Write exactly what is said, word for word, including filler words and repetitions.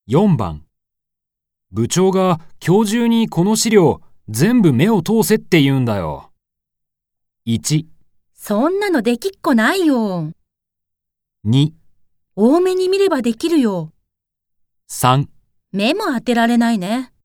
よんばん。部長が今日中にこの資料全部目を通せって言うんだよ。いち、 そんなのできっこないよ。 に、 多めに見ればできるよ。 さん。 目も当てられないね。